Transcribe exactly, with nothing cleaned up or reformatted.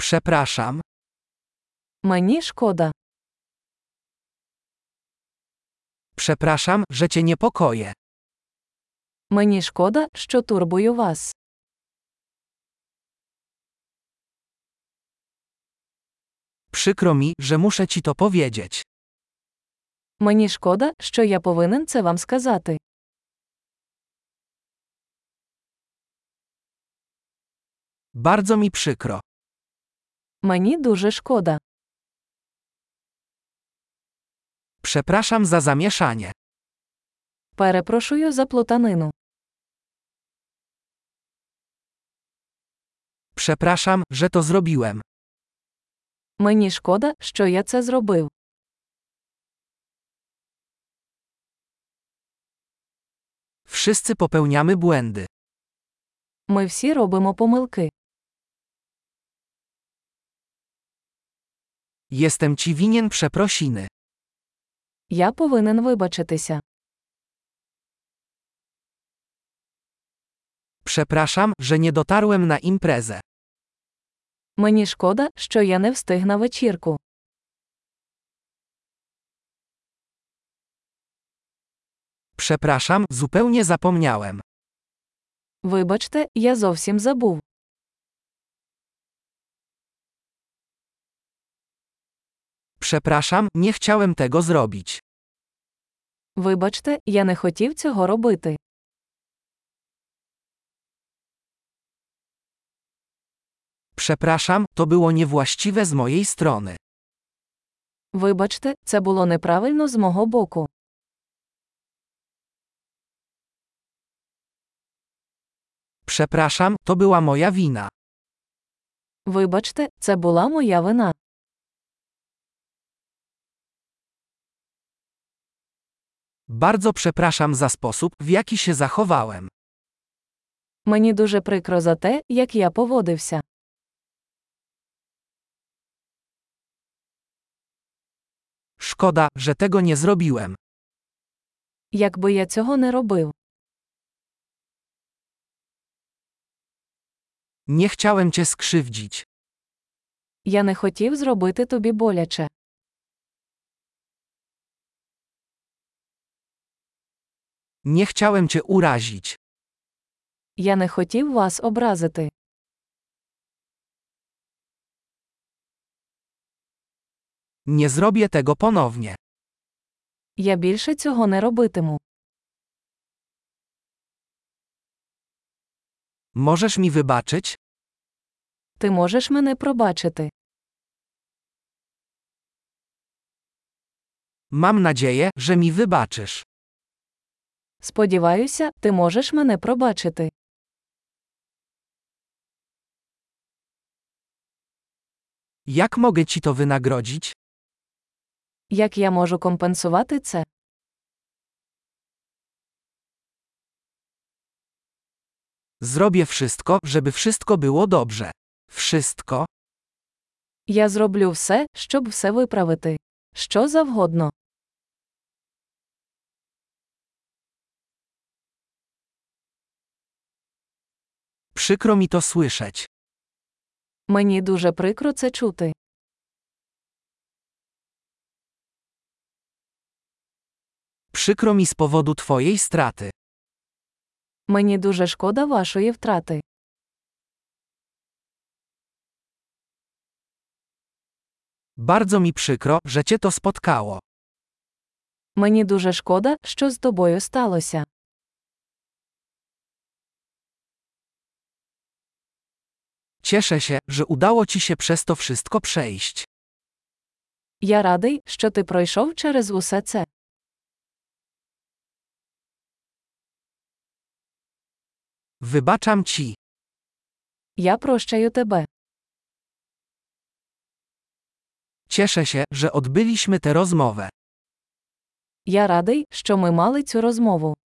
Przepraszam. Мені шкода. Przepraszam, że cię niepokoję. Мені шкода, що турбую вас. Przykro mi, że muszę ci to powiedzieć. Мені шкода, що я повинен це вам сказати. Bardzo mi przykro. Мені дуже шкода. Przepraszam za zamieszanie. Перепрошую за плутанину. Przepraszam, że to zrobiłem. Мені шкода, що я це зробив. Wszyscy popełniamy błędy. Ми всі робимо помилки. Jestem ci winien przeprosiny. Я повинен вибачитися. Przepraszam, że nie dotarłem na imprezę. Мені шкода, що я не встиг на вечірку. Przepraszam, zupełnie zapomniałem. Вибачте, я зовсім забув. Przepraszam, nie chciałem tego zrobić. Вибачте, я не хотів цього робити. Przepraszam, to było niewłaściwe z mojej strony. Вибачте, це було неправильно з мого боку. Przepraszam, to była moja wina. Вибачте, це була моя вина. Bardzo przepraszam za sposób, w jaki się zachowałem. Мені дуже прикро за те, як я поводився. Szkoda, że tego nie zrobiłem. Якби я цього не робив. Nie chciałem cię skrzywdzić. Я не хотів зробити тобі боляче. Nie chciałem cię urazić. Я не хотів вас образити. Nie zrobię tego ponownie. Я більше цього не робитиму. Możesz mi wybaczyć? Ти можеш мене пробачити. Mam nadzieję, że mi wybaczysz. Сподіваюся, ти можеш мене пробачити. Jak mogę ci to wynagrodzić? Як я можу компенсувати це? Zrobię wszystko, żeby wszystko było dobrze. Wszystko? Я зроблю все, щоб все виправити. Що завгодно. Przykro mi to słyszeć. Мені дуже прикро це чути. Przykro mi z powodu twojej straty. Мені дуже шкода вашої втрати. Bardzo mi przykro, że cię to spotkało. Мені дуже шкода, що з тобою сталося. Cieszę się, że udało ci się przez to wszystko przejść. Я радий, що ти пройшов через усе це. Wybaczam ci. Я прощаю тебе. Cieszę się, że odbyliśmy tę rozmowę. Я радий, що ми мали цю розмову.